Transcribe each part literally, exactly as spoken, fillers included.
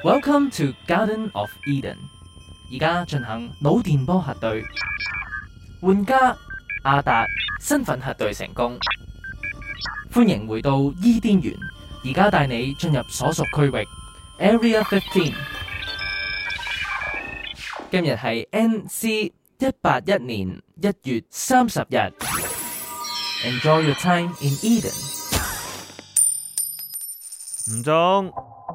Welcome to Garden of Eden。而家進行腦電波核對，玩家阿達身份核對成功。歡迎回到伊甸園，而家帶你進入所屬區域 Area 十五。今日係 N C 一八一年一月三十日。Enjoy your time in Eden。 唔中，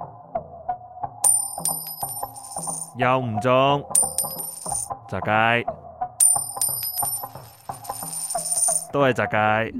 又唔中，雜街，都係雜街。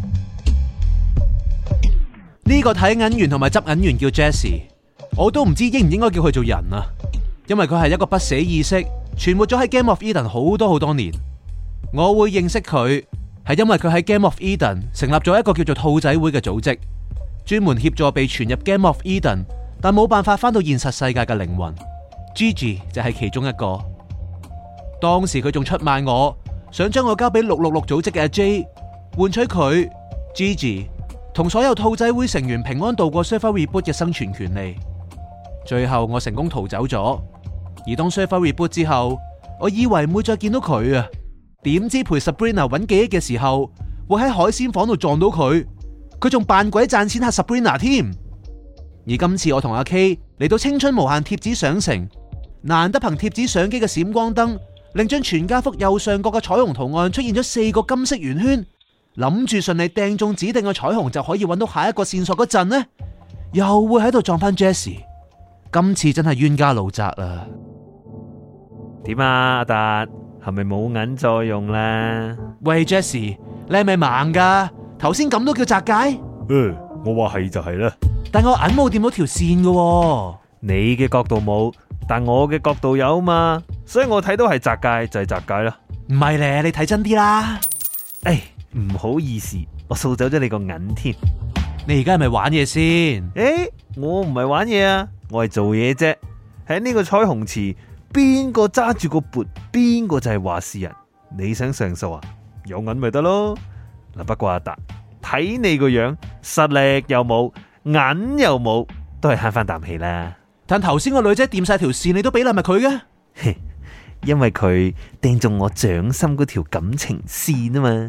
呢個睇銀員同埋執銀員叫 Jesse， 我都唔知應唔應該叫佢做人啊，因為佢係一個不死意識，存活咗喺 Game of Eden 好多好多年。我會認識佢，係因為佢喺 Game of Eden 成立咗一個叫做兔仔會嘅組織，專門協助被傳入 Game of Eden 但冇辦法返到現實世界嘅靈魂。Gigi 就係其中一個。當時佢仲出賣我，想將我交俾六六六組織嘅阿 J， 換取佢 Gigi 同所有兔仔會成員平安度過 Server Reboot 嘅生存權利。最後我成功逃走咗，而當 Server Reboot 之後，我以為唔會再見到佢啊，點知陪 Sabrina 揾記憶嘅時候，會喺海鮮房度撞到佢，佢仲扮鬼賺錢嚇 Sabrina 添。而今次我同阿 K 嚟到青春無限貼紙相城，難得憑貼紙相機嘅閃光燈，令張全家福右上角嘅彩虹圖案出現咗四個金色圓圈，諗住順利掟中指定嘅彩虹就可以揾到下一個線索嗰陣呢，又會喺度撞翻 Jesse。今次真係冤家路窄啦。 點啊，阿達係咪冇銀再用啦？ 喂 Jesse， 你係咪盲噶？頭先咁都叫窄街？誒、 呃，我話係就係啦。 但我銀冇掂到條線噶喎。 你嘅角度冇，但我嘅角度有嘛，所以我睇到係窄街就係窄街啦。 唔係咧，你睇真啲啦。 誒，唔好意思，我掃走咗你個銀添。 你而家係咪玩嘢先？ 誒，我唔係玩嘢啊，我係做嘢啫。喺呢個彩虹池，邊個揸住個缽，邊個就係話事人。你想上訴啊？有銀咪得咯。嗱，不過阿達睇你個樣，實力又冇，銀又冇，都係慳翻啖氣啦。 但頭先個女仔掂晒條線，你都俾禮物佢嘅？ 因為佢掟中我掌心嗰條感情線啊嘛。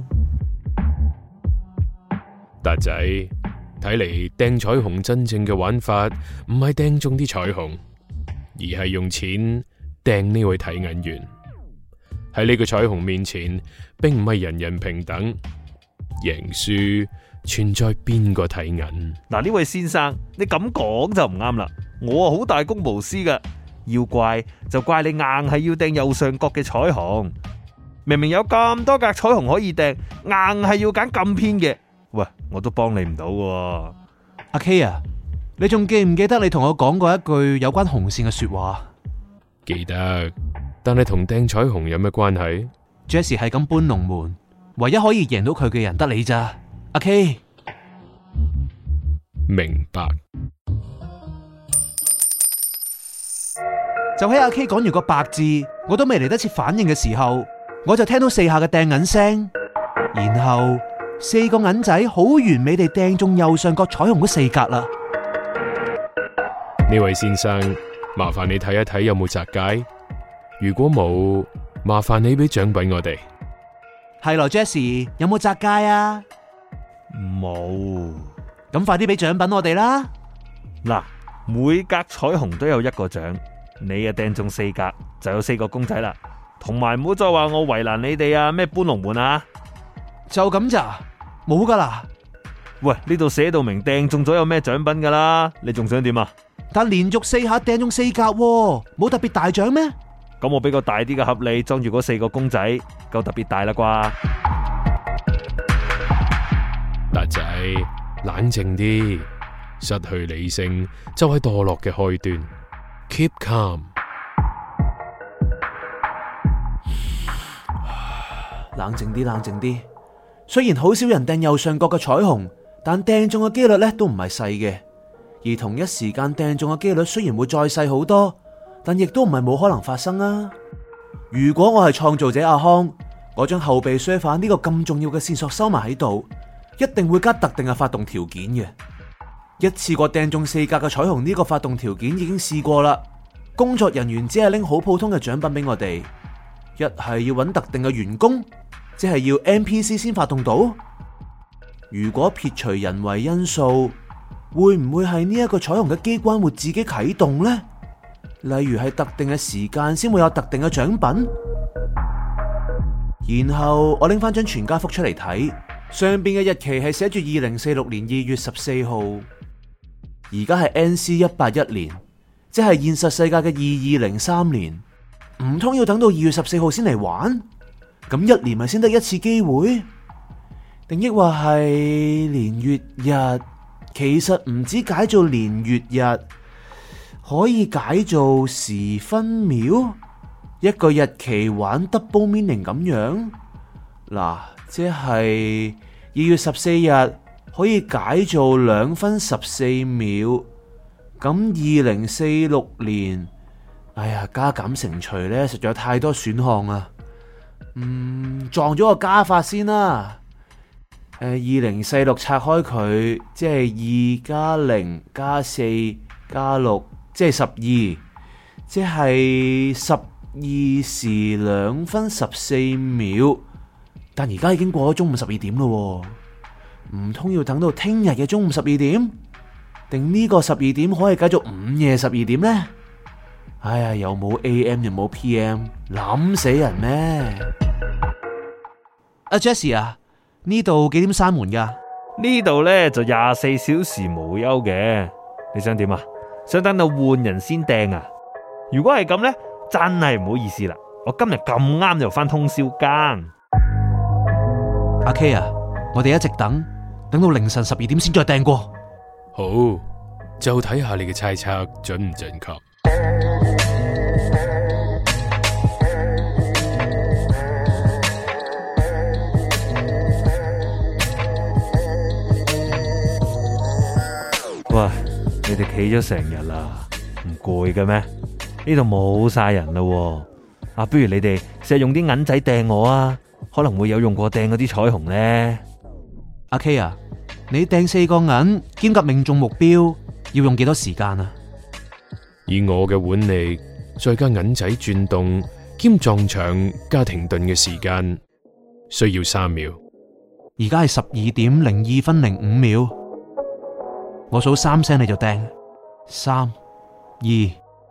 達仔，睇嚟掟彩虹真正嘅玩法唔係掟中啲彩虹，而係用錢掟呢位睇銀員。喺呢個彩虹面前，並唔係人人平等，贏輸存在邊個睇銀。 嗱，呢位先生，你咁講就唔啱啦。我啊好大公無私噶，要怪就怪你硬係要掟右上角嘅彩虹。明明有咁多格彩虹可以掟，硬係要揀咁偏嘅。喂，我都幫你唔到喎。 阿 K 啊，你仲記唔記得你同我講過一句有關紅線嘅說話？ 記得，但係同掟彩虹有咩關係？ Jesse 係咁搬龍門，唯一可以贏到佢嘅人得你咋。阿 K， 明白。 就喺阿 K 講完個白字，我都未嚟得切反應嘅時候，我就聽到四下嘅掟銀聲，然後四個銀仔好完美地掟中右上角彩虹嗰四格啦。 呢位先生，麻煩你睇一睇有冇窄街，如果冇，麻煩你俾獎品我哋。 係咯 Jesse， 有冇窄街啊？ 冇。 咁快啲俾獎品我哋啦。 嗱，每格彩虹都有一個獎。你啊掟中四格就有四個公仔啦，同埋唔好再話我為難你哋啊，咩搬龍門啊， 就咁咋？冇噶啦。 喂，呢度寫到明掟中咗有咩獎品噶啦，你仲想點啊？ 但連續四下掟中四格，冇特別大獎咩？ 咁我俾個大啲嘅盒你裝住嗰四個公仔，夠特別大啦啩？ 達仔，冷靜啲，失去理性就係墮落嘅開端。Keep calm。 冷靜啲，冷靜啲。雖然好少人掟右上角嘅彩虹，但掟中嘅幾率咧都唔係細嘅。而同一時間掟中嘅幾率雖然會再細好多，但亦都唔係冇可能發生啊。如果我係創造者阿康，我將後備 server 呢個咁重要嘅線索收埋喺度，一定會加特定嘅發動條件嘅。 一次過掟中四格嘅彩虹呢個發動條件已經試過啦。工作人員只係拎好普通嘅獎品俾我哋，一係要揾特定嘅員工，即係要 N P C 先發動到。如果撇除人為因素，會唔會係呢一個彩虹嘅機關會自己啟動呢？例如係特定嘅時間先會有特定嘅獎品。然後我拎翻張全家福出嚟睇，上邊嘅日期係寫住二零四六年二月十四號，而家係 N C 一八一年，即係現實世界嘅二二零三年。唔通要等到二月十四號先嚟玩？咁一年咪先得一次機會？定抑或係年月日？其實唔止解做年月日，可以解做時分秒。一個日期玩 double meaning 咁樣，嗱，即係二月十四日可以解做兩分十四秒。咁二零四六年，哎呀，加減乘除咧，實在有太多選項啊。嗯，撞咗個加法先啦。誒，二零四六拆開佢，即係二加零加四加六，即係十二，即係十二時兩分十四秒。但而家已經過咗中午十二點咯，唔通要等到聽日嘅中午十二點？定呢個十二點可以解做午夜十二點呢？哎呀，又冇 A M 又冇 P M， 諗死人咩？阿 Jessie 啊，呢度幾點閂門噶？ 呢度呢就廿四小時無休嘅。你想點啊？想等到換人先掟啊？如果係咁呢，真係唔好意思啦。我今日咁啱就返通宵更。 阿 K 啊，我哋一直等，等到凌晨十二點先再掟過。 好，就睇下你嘅猜測準唔準確。 喂，你哋企咗成日啦，唔攰嘅咩？呢度冇晒人啦。啊，不如你哋試下用啲銀仔掟我啊，可能會有用過掟嗰啲彩虹呢。 阿 K 啊，你掟四個銀兼夾命中目標要用幾多時間啊？ 以我嘅腕力，再加銀仔轉動兼撞牆加停頓嘅時間，需要三秒。 而家係十二點零二分零五秒，我數三聲你就掟，三二一。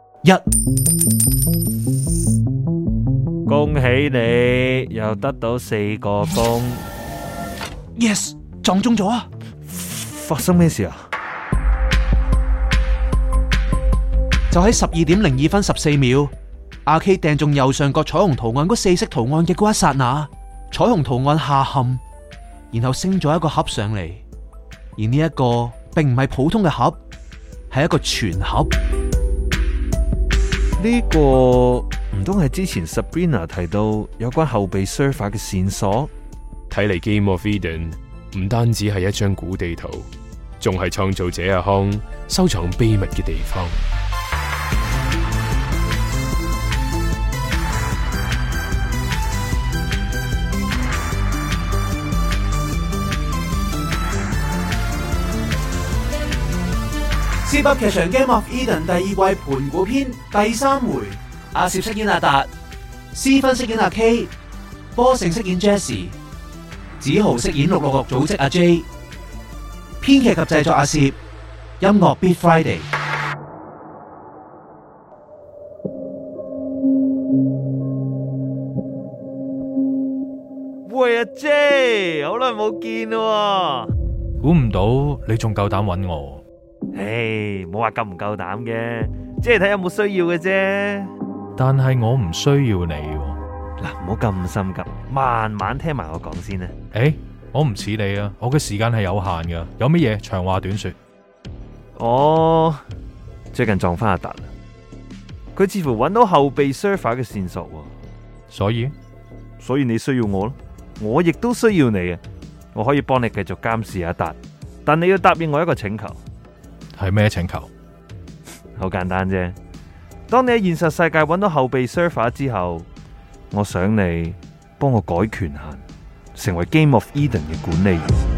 恭喜你又得到四個弓。 Yes， 撞中咗啊！ 發生咩事啊？ 就喺十二點零二分十四秒，阿 K 掟中右上角彩虹圖案嗰四色圖案嘅嗰一剎那，彩虹圖案下陷，然後升咗一個盒上嚟，而呢一個並唔係普通嘅盒，係一個全盒。 呢個唔通係之前 Sabrina 提到有關後備 server 嘅線索？ 睇嚟 Game of Eden 唔單止係一張古地圖，仲係創造者阿康收藏秘密嘅地方。 Zip 噏劇場 Game of Eden 第二季盤古篇第三回，阿攝飾演阿達，斯芬飾演阿 K， 波成飾演 Jessie， 子豪飾演六六六組織阿 J， 編劇及製作阿攝，音樂 Beat Friday。 喂阿 J， 好耐冇見咯， 估唔到你仲夠膽揾我。 唉，冇話夠唔夠膽嘅，即係睇有冇需要嘅啫。 但係我唔需要你。 嗱，唔好咁心急，慢慢聽埋我講先啦。 誒，我唔似你啊，我嘅時間係有限噶，有乜嘢長話短說。 我最近撞翻阿達，佢似乎揾到後備 server 嘅線索， 所以所以你需要我咯，我亦都需要你啊。我可以幫你繼續監視阿達，但你要答應我一個請求。 係咩請求？ 好簡單啫。當你喺現實世界揾到後備 server 之後，我想你幫我改權限，成為 Game of Eden 嘅管理員。